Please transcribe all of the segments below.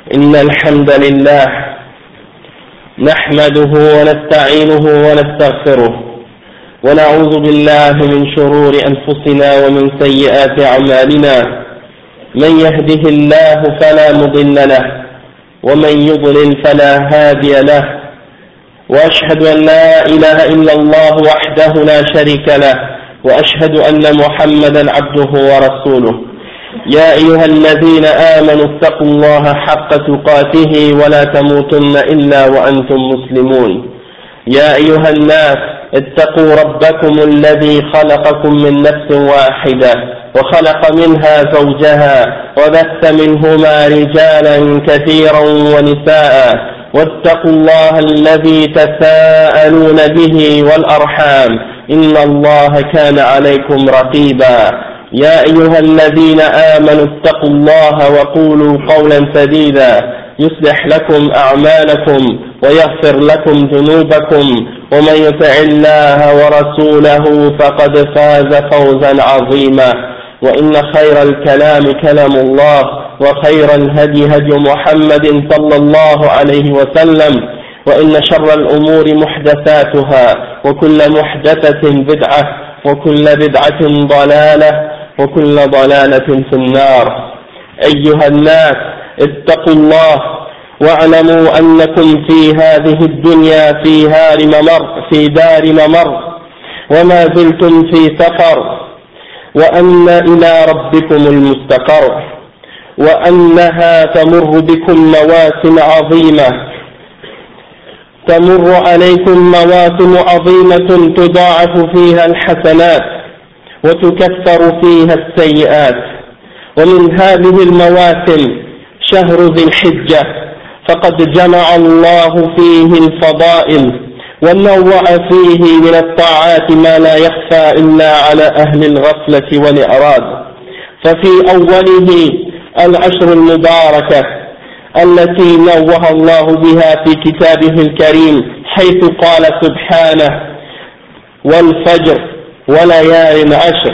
إن الحمد لله نحمده ونستعينه ونستغفره ونعوذ بالله من شرور أنفسنا ومن سيئات أعمالنا. من يهده الله فلا مضل له ومن يضلل فلا هادي له، وأشهد أن لا إله إلا الله وحده لا شريك له، وأشهد أن محمدا عبده ورسوله. يا أيها الذين آمنوا اتقوا الله حق تقاته ولا تموتن إلا وأنتم مسلمون. يا أيها الناس اتقوا ربكم الذي خلقكم من نفس واحدة وخلق منها زوجها وبث منهما رجالا كثيرا ونساء، واتقوا الله الذي تساءلون به والأرحام إن الله كان عليكم رقيبا. يا أيها الذين آمنوا اتقوا الله وقولوا قولا سديدا يصلح لكم أعمالكم ويغفر لكم ذنوبكم، ومن يطع الله ورسوله فقد فاز فوزا عظيما. وإن خير الكلام كلام الله، وخير الهدي هدي محمد صلى الله عليه وسلم، وإن شر الأمور محدثاتها، وكل محدثة بدعة، وكل بدعة ضلالة، وكل ضلالة في النار. أيها الناس اتقوا الله واعلموا أنكم في هذه الدنيا في دار ممر وما زلتم في سفر، وأن إلى ربكم المستقر، وأنها تمر بكم مواسم عظيمة، تمر عليكم مواسم عظيمة تضاعف فيها الحسنات وتكفر فيها السيئات. ومن هذه المواسم شهر ذي الحجة، فقد جمع الله فيه الفضائل ونوع فيه من الطاعات ما لا يخفى إلا على أهل الغفلة والإعراض. ففي أوله العشر المباركة التي نوه الله بها في كتابه الكريم، حيث قال سبحانه: والفجر وليال عشر،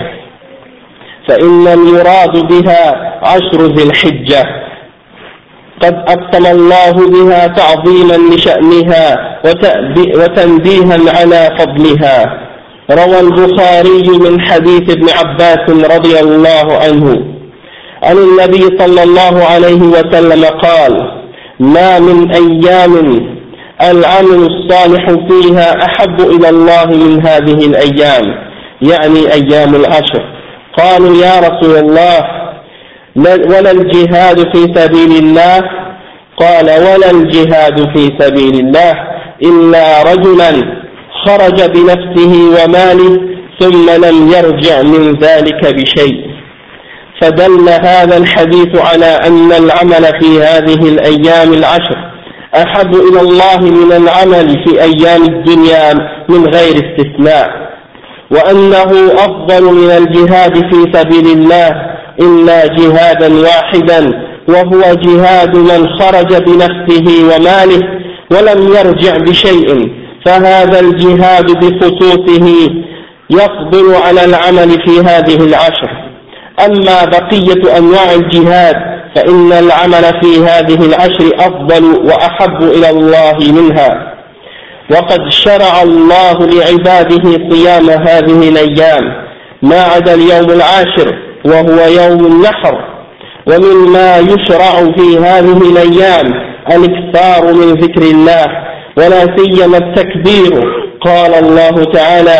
فإن المراد بها عشر ذي الحجة، قد أقسم الله بها تعظيما لشأنها وتنبيها على فضلها. روى البخاري من حديث ابن عباس رضي الله عنه عن النبي صلى الله عليه وسلم قال: ما من أيام العمل الصالح فيها أحب إلى الله من هذه الأيام، يعني أيام العشر. قالوا: يا رسول الله، ولا الجهاد في سبيل الله؟ قال: ولا الجهاد في سبيل الله إلا رجلا خرج بنفسه وماله ثم لم يرجع من ذلك بشيء. فدل هذا الحديث على أن العمل في هذه الأيام العشر أحب إلى الله من العمل في أيام الدنيا من غير استثناء، وأنه أفضل من الجهاد في سبيل الله إلا جهادا واحدا، وهو جهاد من خرج بنفسه وماله ولم يرجع بشيء، فهذا الجهاد بخصوصه يفضل على العمل في هذه العشر. أما بقية أنواع الجهاد فإن العمل في هذه العشر أفضل وأحب إلى الله منها. وقد شرع الله لعباده صيام هذه الأيام ما عدا اليوم العاشر وهو يوم النحر. ومما يشرع في هذه الأيام الإكثار من ذكر الله، ولا سيما التكبير. قال الله تعالى: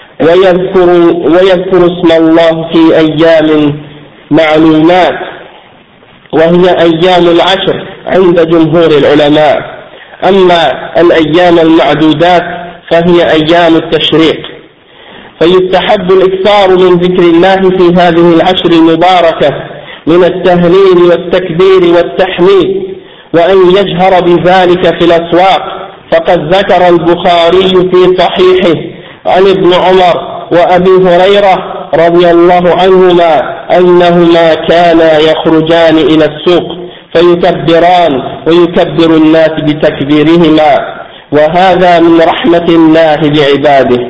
ويذكر اسم الله في أيام معلومات، وهي أيام العشر عند جمهور العلماء. أما الأيام المعدودات فهي أيام التشريق. فيستحب الإكثار من ذكر الله في هذه العشر المباركة من التهليل والتكبير والتحميد، وأن يجهر بذلك في الأسواق. فقد ذكر البخاري في صحيحه عن ابن عمر وأبي هريرة رضي الله عنهما أنهما كانا يخرجان إلى السوق فيكبران ويكبر الناس بتكبيرهما، وهذا من رحمة الله بعباده.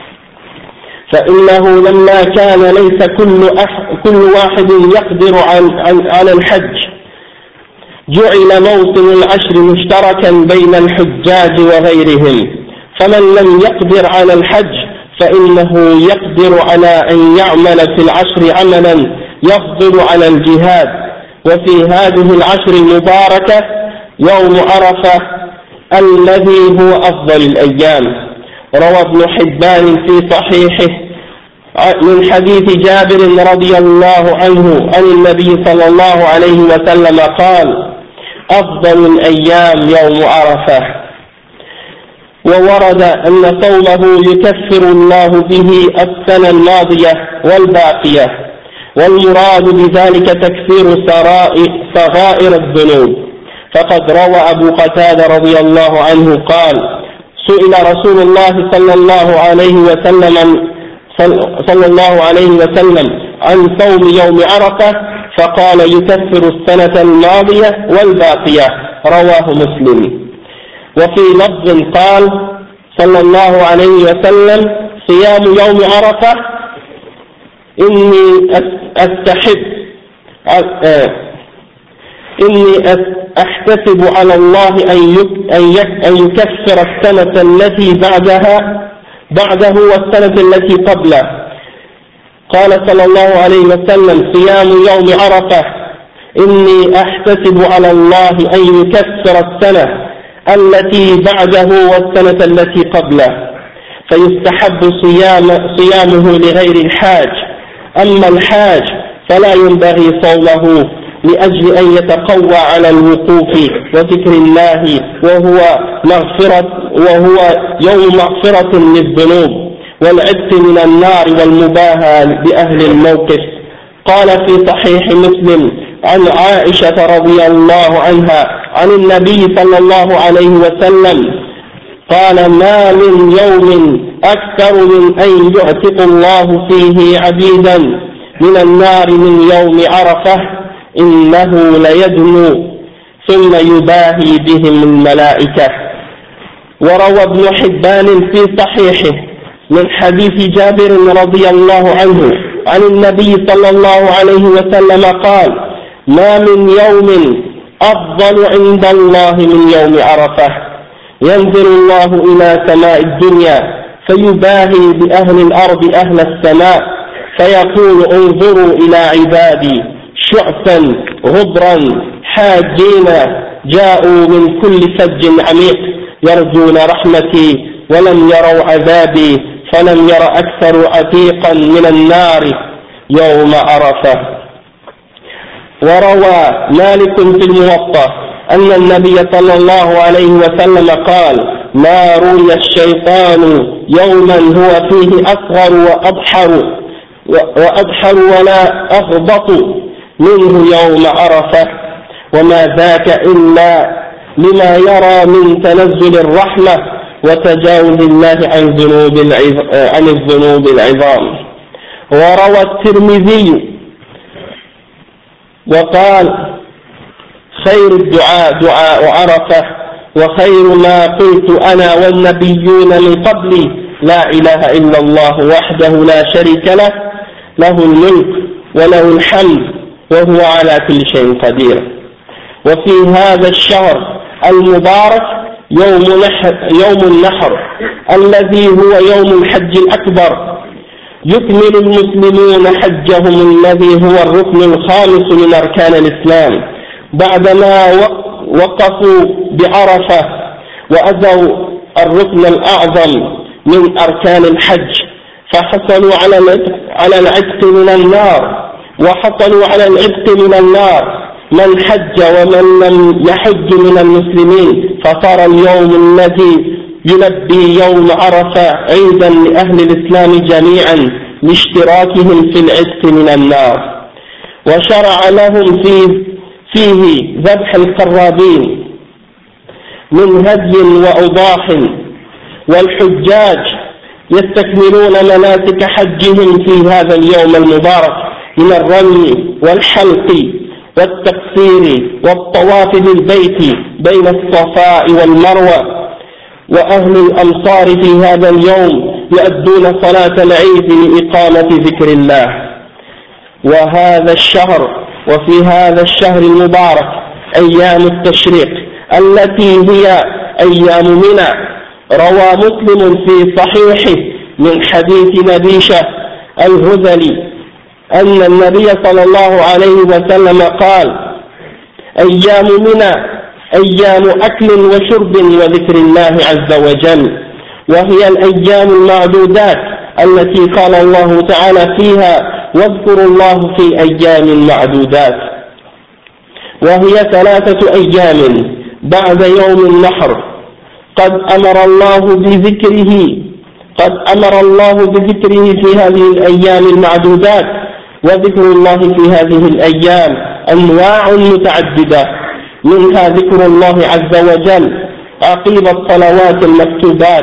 فإنه لما كان ليس كل واحد يقدر على الحج جعل موسم العشر مشتركا بين الحجاج وغيرهم، فمن لم يقدر على الحج فإنه يقدر على أن يعمل في العشر عملا يفضل على الجهاد. وفي هذه العشر المباركة يوم عرفة الذي هو أفضل الأيام. روى ابن حبان في صحيحه من حديث جابر رضي الله عنه عن النبي صلى الله عليه وسلم قال: أفضل الأيام يوم عرفة. وورد أن صومه يكفر الله به السنة الماضية والباقية، والمراد بذلك تكفير صغائر الذنوب. فقد روى أبو قتادة رضي الله عنه قال: سئل رسول الله صلى الله عليه وسلم عن صوم يوم عرفة فقال: يكفر السنة الماضية والباقية. رواه مسلم. وفي لفظ قال صلى الله عليه وسلم: صيام يوم عرفة إني أحتسب على الله أن يكفر السنة التي بعده والسنة التي قبله. قال صلى الله عليه وسلم: صيام يوم عرفة إني أحتسب على الله أن يكفر السنة التي بعده والسنة التي قبله، فيستحب صيامه لغير الحاج. أما الحاج فلا ينبغي صومه لأجل أن يتقوى على الوقوف وذكر الله، وهو يوم مغفرة للذنوب والعتق من النار والمباهاة بأهل الموقف. قال في صحيح مسلم عن عائشة رضي الله عنها عن النبي صلى الله عليه وسلم قال: ما من يوم أكثر من أن يعتق الله فيه عبيدا من النار من يوم عرفة إنه ليدنو ثم يباهي بهم الملائكة. وروى ابن حبان في صحيحه من حديث جابر رضي الله عنه عن النبي صلى الله عليه وسلم قال: ما من يوم أفضل عند الله من يوم عرفة. ينزل الله إلى سماء الدنيا فيباهي بأهل الأرض أهل السماء فيقول: انظروا إلى عبادي شعثا غبرا حاجين جاءوا من كل فج عميق يرجون رحمتي ولم يروا عذابي فلم ير أكثر عتيقا من النار يوم عرفة. وروى مالك في الموطأ أن النبي صلى الله عليه وسلم قال: ما روي الشيطان يوما هو فيه أصغر وأبحر ولا أغبط منه يوم عرفة، وما ذاك إلا لما يرى من تنزل الرحمة وتجاوز الله عن الذنوب العظام. وروى الترمذي وقال: خير الدعاء دعاء عرفة، وخير ما قلت أنا والنبيون من قبلي لا إله إلا الله وحده لا شريك له، له الملك وله الحمد وهو على كل شيء قدير. وفي هذا الشهر المبارك يوم النحر الذي هو يوم الحج الأكبر، يكمل المسلمون حجهم الذي هو الركن الخامس من أركان الإسلام بعدما وقفوا بعرفة وأتوا الركن الأعظم من أركان الحج، فحصلوا على العتق من النار، وحصلوا على العتق من النار من حج ومن لم يحج من المسلمين، فصار اليوم الذي يلبي يوم عرفة عيدا لأهل الإسلام جميعا لاشتراكهم في العتق من النار. وشرع لهم فيه ذبح القرابين من هدي وأضاح، والحجاج يستكملون مناسك حجهم في هذا اليوم المبارك من الرمي والحلق والتقصير والطواف بالبيت بين الصفاء والمروة. وأهل الأمصار في هذا اليوم يؤدون صلاة العيد لإقامة ذكر الله. وفي هذا الشهر المبارك أيام التشريق التي هي أيام منى. روى مسلم في صحيحه من حديث نبيشة الهذلي أن النبي صلى الله عليه وسلم قال: أيام منى أيام أكل وشرب وذكر الله عز وجل، وهي الأيام المعدودات التي قال الله تعالى فيها: واذكروا الله في أيام معدودات. وهي 3 أيام بعد يوم النحر قد أمر الله بذكره في هذه الأيام المعدودات. وذكر الله في هذه الأيام أنواع متعددة، منها ذكر الله عز وجل عقيب الصلوات المكتوبات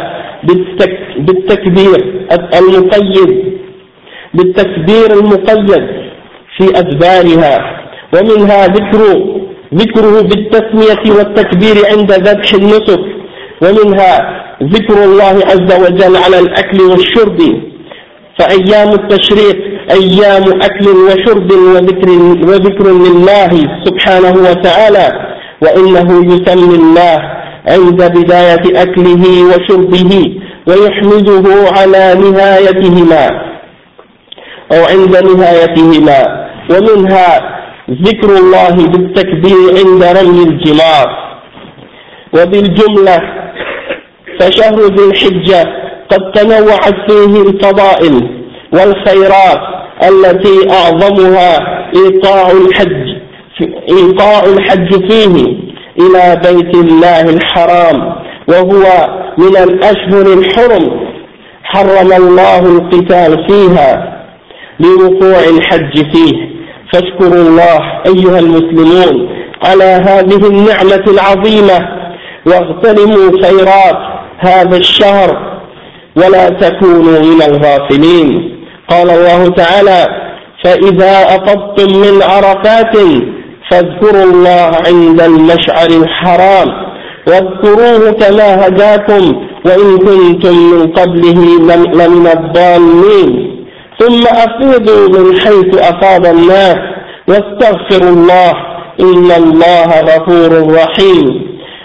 بالتكبير المقيد في أدبارها، ومنها ذكره بالتسمية والتكبير عند ذبح النسك، ومنها ذكر الله عز وجل على الأكل والشرب. فأيام التشريق أيام أكل وشرب وذكر لله سبحانه وتعالى، وإنه يسمي الله عند بداية أكله وشربه ويحمده على نهايتهما أو عند نهايتهما. ومنها ذكر الله بالتكبير عند رمي الجمار. وبالجملة فشهر ذي الحجة قد تنوعت فيه الفضائل والخيرات التي أعظمها إيقاع الحج فيه إلى بيت الله الحرام، وهو من الأشهر الحرم حرم الله القتال فيها لوقوع الحج فيه. فاشكروا الله أيها المسلمون على هذه النعمة العظيمة، واغتنموا خيرات هذا الشهر ولا تكونوا من الغافلين. قال الله تعالى: فإذا أفضتم من عرفات فاذكروا الله عند المشعر الحرام واذكروه كما هداكم وإن كنتم من قبله لمن الضالين، ثم أفيضوا من حيث أفاض الناس واستغفروا الله إن الله غفور رحيم.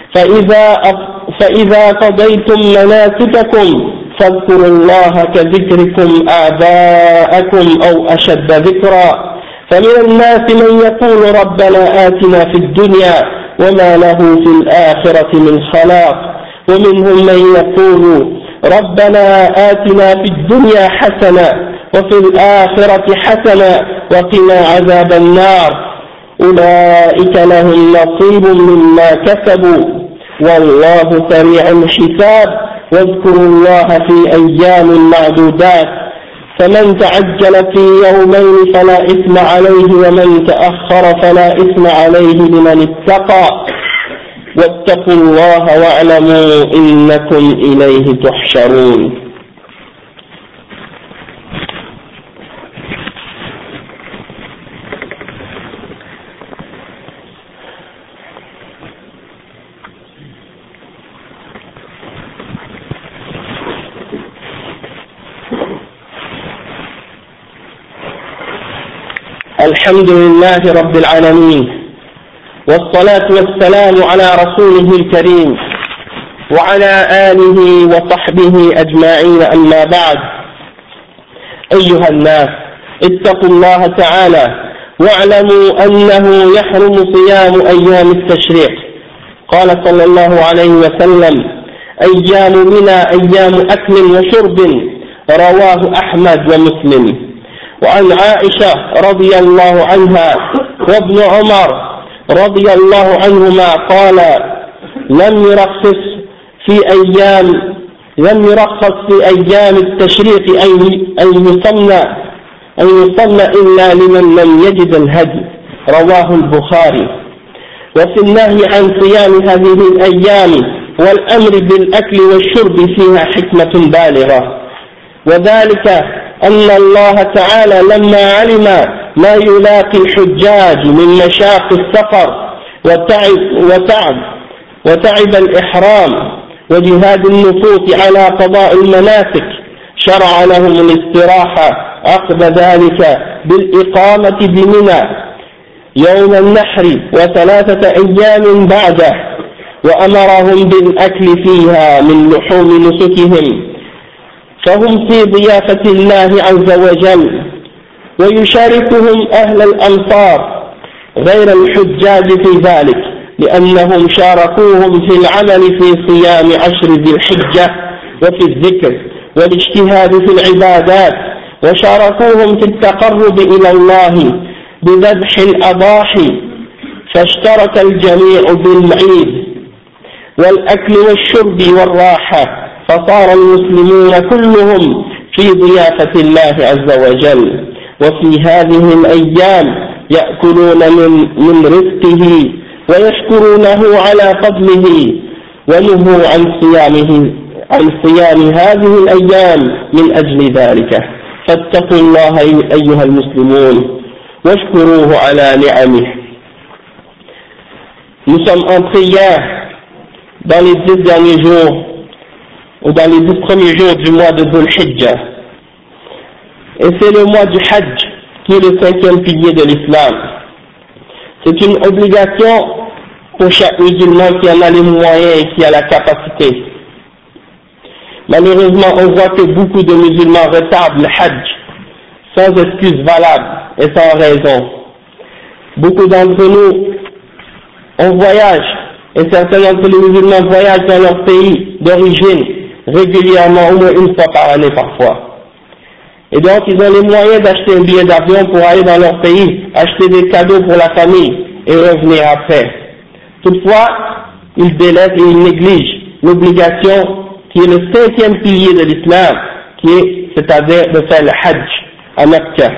فإذا قضيتم مناسككم فاذكروا الله كذكركم آباءكم أو أشد ذكرا. فمن الناس من يقول ربنا آتنا في الدنيا وما له في الآخرة من خلاق، ومنهم من يقول ربنا آتنا في الدنيا حسنة وفي الآخرة حسنة وقنا عذاب النار. أولئك لهم نصيب مما كسبوا والله سريع الحساب. واذكروا الله في أيام معدودات، فمن تعجل في يومين فلا إثم عليه ومن تأخر فلا إثم عليه لمن اتقى. واتقوا الله واعلموا إنكم إليه تحشرون. الحمد لله رب العالمين، والصلاة والسلام على رسوله الكريم وعلى آله وصحبه أجمعين. أما بعد، أيها الناس اتقوا الله تعالى واعلموا أنه يحرم صيام أيام التشريق. قال صلى الله عليه وسلم: أيام منى أيام أكل وشرب. رواه أحمد ومسلم. وعن عائشة رضي الله عنها وابن عمر رضي الله عنهما قال: لم يرخص في أيام التشريق أن يصلى إلا لمن لم يجد الهدي. رواه البخاري. وفي النهي عن صيام هذه الأيام والأمر بالأكل والشرب فيها حكمة بالغة، وذلك أن الله تعالى لما علم ما يلاقي الحجاج من مشاق السفر وتعب الإحرام وجهاد النفوس على قضاء المناسك، شرع لهم الاستراحة عقب ذلك بالإقامة بمنى يوم النحر وثلاثة أيام بعده، وأمرهم بالأكل فيها من لحوم نسكهم، فهم في ضيافة الله عز وجل، ويشاركهم أهل الأمصار غير الحجاج في ذلك، لأنهم شاركوهم في العمل في صيام عشر ذي الحجة وفي الذكر والاجتهاد في العبادات، وشاركوهم في التقرب إلى الله بذبح الأضاحي، فاشترك الجميع بالعيد والأكل والشرب والراحة، فصار المسلمون كلهم في ضيافة الله عز وجل. وفي هذه الأيام يأكلون من رزقه ويشكرونه على فضله، ونهوا عن صيام هذه الأيام من أجل ذلك. فاتقوا الله أيها المسلمون واشكروه على نعمه. Nous sommes entrés hier dans les 10 derniers jours ou dans les 10 premiers jours du mois de Dhul Hijjah, et c'est le mois du Hajj qui est le 5e pilier de l'islam. C'est une obligation pour chaque musulman qui en a les moyens et qui a la capacité. Malheureusement, on voit que beaucoup de musulmans retardent le Hajj sans excuse valable et sans raison. Beaucoup d'entre nous, on voyage, et certains d'entre les musulmans voyagent dans leur pays d'origine régulièrement, au moins une fois par année parfois. Et donc ils ont les moyens d'acheter un billet d'avion pour aller dans leur pays, acheter des cadeaux pour la famille et revenir après. Toutefois, ils délaissent et ils négligent l'obligation qui est le 5e pilier de l'islam, c'est-à-dire de faire le Hajj à Mecca.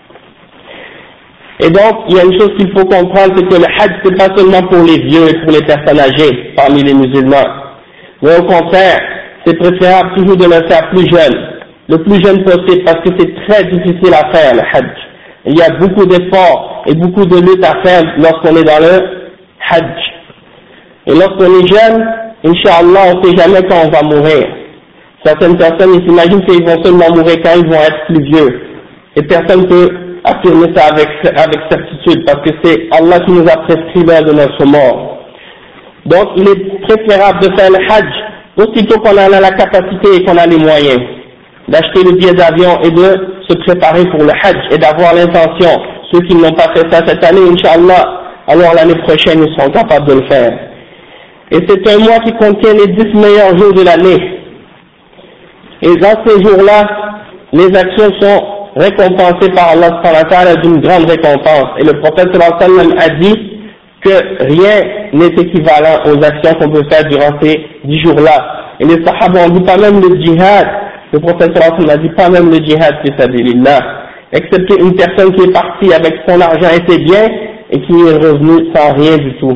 Et donc, il y a une chose qu'il faut comprendre, c'est que le Hajj, c'est pas seulement pour les vieux et pour les personnes âgées parmi les musulmans. Mais au contraire, c'est préférable toujours de le faire plus jeune, le plus jeune possible, parce que c'est très difficile à faire le Hajj. Il y a beaucoup d'efforts et beaucoup de luttes à faire lorsqu'on est dans le Hajj. Et lorsqu'on est jeune, Inch'Allah, on ne sait jamais quand on va mourir. Certaines personnes, ils s'imaginent qu'ils vont seulement mourir quand ils vont être plus vieux. Et personne ne peut affirmer ça avec certitude, parce que c'est Allah qui nous a prescrit l'heure de notre mort. Donc, il est préférable de faire le Hajj aussitôt qu'on en a la capacité et qu'on a les moyens, d'acheter le billet d'avion et de se préparer pour le Hajj et d'avoir l'intention. Ceux qui n'ont pas fait ça cette année, Inch'Allah, alors l'année prochaine, ils seront capables de le faire. Et c'est un mois qui contient les 10 meilleurs jours de l'année. Et dans ces jours-là, les actions sont récompensées par Allah subhanahu wa ta'ala d'une grande récompense. Et le prophète sallallahu alayhi wa sallam a dit que rien n'est équivalent aux actions qu'on peut faire durant ces 10 jours-là. Et les sahaba ont dit pas même le djihad. Le prophète sallallahu alayhi wa sallam a dit pas même le djihad fi sabilillah, excepté une personne qui est partie avec son argent et ses biens et qui est revenue sans rien du tout.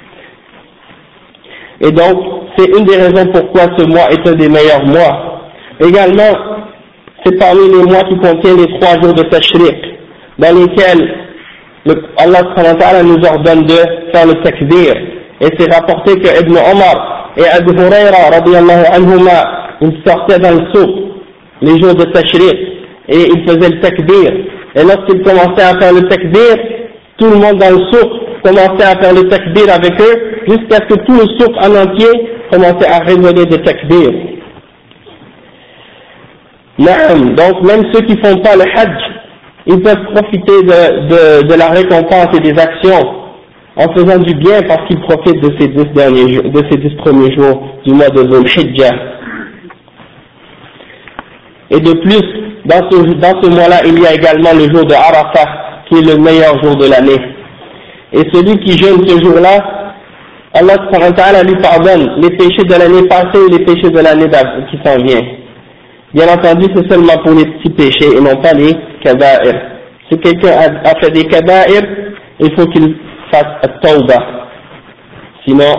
Et donc, c'est une des raisons pourquoi ce mois est un des meilleurs mois. Également, c'est parmi les mois qui contiennent les 3 jours de Tashriq, dans lesquels Allah subhanahu wa ta'ala nous ordonne de faire le takbir. Et c'est rapporté que Ibn Omar et Abu Huraira radiyallahu anhuma, ils sortaient dans le souk les jours de Tashriq et ils faisaient le takbir. Et lorsqu'ils commençaient à faire le takbir, tout le monde dans le souk commençait à faire le takbir avec eux, jusqu'à ce que tout le souk en entier commençait à résonner de takbir. Donc même ceux qui font pas le Hajj, ils peuvent profiter de la récompense et des actions en faisant du bien, parce qu'ils profitent de ces 10 premiers jours du mois de Dhul Hijjah. Et de plus, dans ce mois-là, il y a également le jour de Arafah, qui est le meilleur jour de l'année. Et celui qui jeûne ce jour-là, Allah subhanahu wa ta'ala lui pardonne les péchés de l'année passée et les péchés de l'année qui s'en vient. Bien entendu, c'est seulement pour les petits péchés et non pas les kaba'ir. Si quelqu'un a fait des kaba'ir, il faut qu'il fasse at-tawbah. Sinon,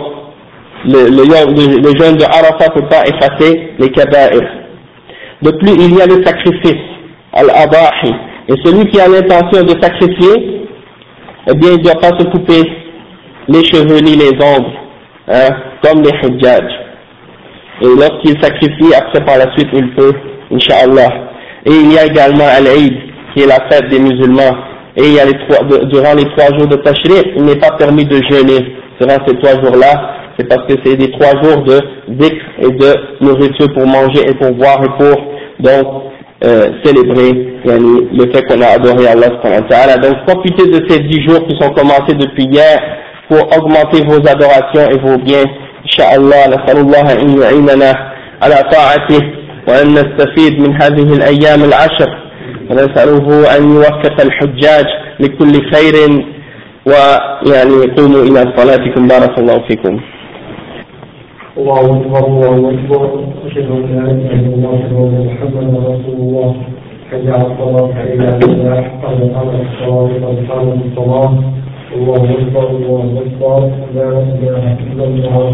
le jeûne de Arafah ne peut pas effacer les kaba'ir. De plus, il y a le sacrifice, al-adahi. Et celui qui a l'intention de sacrifier, eh bien, il ne doit pas se couper les cheveux ni les ongles, comme les hujjaj. Et lorsqu'il sacrifie, après par la suite, il peut, Inch'Allah. Et il y a également Al-Eid, qui est la fête des musulmans, et il y a durant les 3 jours de Tashriq, il n'est pas permis de jeûner durant ces 3 jours-là, c'est parce que c'est des 3 jours de dhikr et de nourriture pour manger et pour boire et pour donc célébrer le fait qu'on a adoré Allah subhanahu wa ta'ala. Donc profitez de ces 10 jours qui sont commencés depuis hier pour augmenter vos adorations et vos biens. Inch'Allah, nas'alullah an yu'inana ala ta'atih wa an nastafid min hadhihi al-ayyam al-ashr wa nas'aluhu an yuwaffiq al-hujjaj li kulli khairin wa qumu ila salatikum barakallahu fikum. الله أكبر الله أكبر أشهد أن لا إله إلا الله وأن محمدا رسول الله حي على الصلاة حي على الفلاح قد قامت الصلاة قد قامت الصلاة الله أكبر الله أكبر لا إله إلا الله.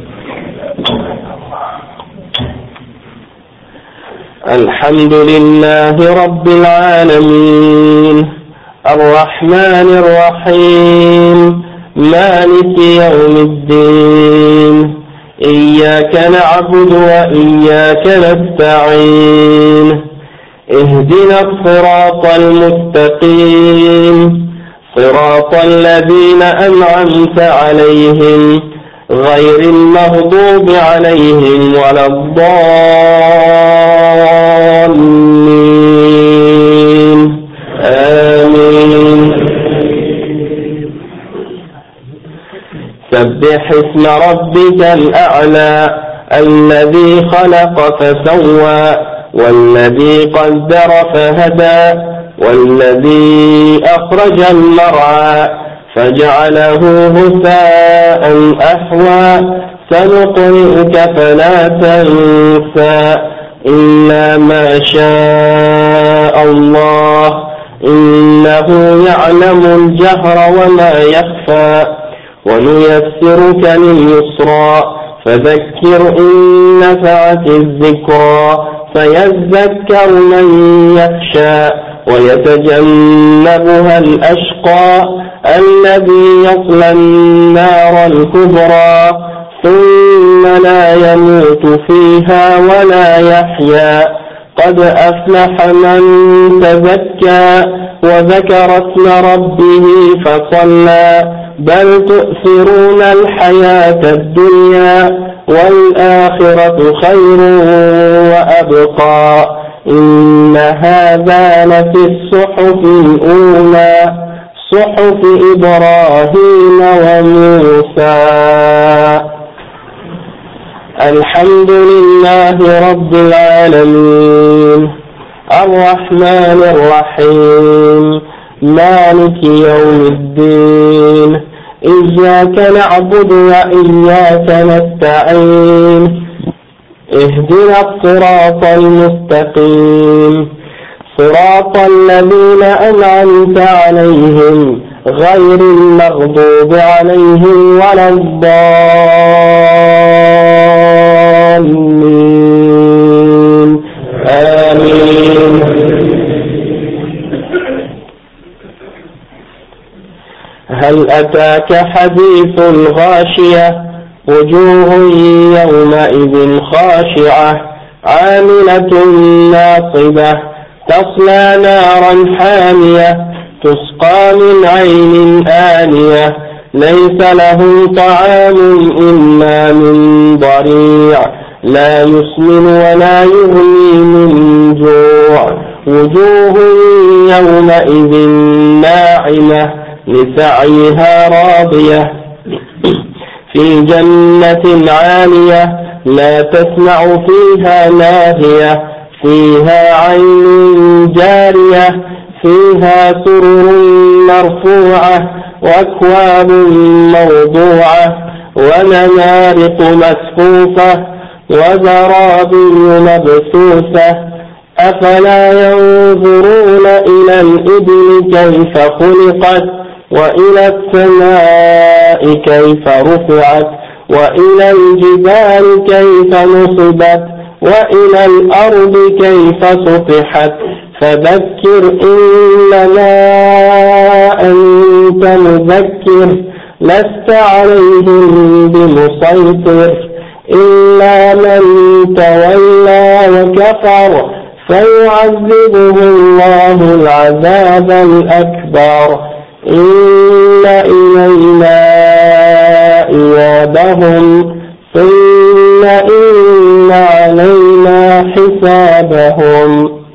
الحمد لله رب العالمين الرحمن الرحيم مالك يوم الدين إياك نعبد وإياك نستعين اهدنا الصراط المستقيم صراط الذين أنعمت عليهم غير المغضوب عليهم ولا الضالين آمين. سبح اسم ربك الأعلى الذي خلق فسوى والذي قدر فهدى والذي أخرج المرعى فجعله غثاء أحوى سنقرئك فلا تنسى إلا ما شاء الله إنه يعلم الجهر وما يخفى ونيسرك لليسرى فذكر إن نفعت الذكرى فيذكر من يخشى ويتجنبها الأشقى الذي يصلى النار الكبرى ثم لا يموت فيها ولا يحيا قد أفلح من تزكى وذكر اسم ربه فصلى بل تؤثرون الحياة الدنيا والآخرة خير وأبقى إن هذا لفي الصحف الأولى صحف إبراهيم وموسى. الحمد لله رب العالمين الرحمن الرحيم مالك يوم الدين إياك نعبد وإياك نستعين اهدنا الصراط المستقيم صراط الذين أنعمت عليهم غير المغضوب عليهم ولا الضالين آمين. هل أتاك حديث الغاشية وجوه يومئذ خاشعة عاملة ناصبة تصلى نارا حامية تسقى من عين آنية ليس لهم طعام إلا من ضريع لا يسمن ولا يغني من جوع وجوه يومئذ ناعمة لسعيها راضية في جنة عالية لا تسمع فيها لاغية فيها عين جارية فيها سرر مرفوعة وأكواب موضوعة ونمارق مسفوفة وزرابي مبثوثة أفلا ينظرون إلى الإبل كيف خلقت وإلى السماء كيف رفعت وإلى الجبال كيف نصبت وإلى الأرض كيف سطحت فذكر إنما أنت مذكر لست عليهم بمسيطر إلا من تولى وكفر فيعذبه الله العذاب الأكبر. إن إلينا إيابهم ثم إن علينا حسابهم.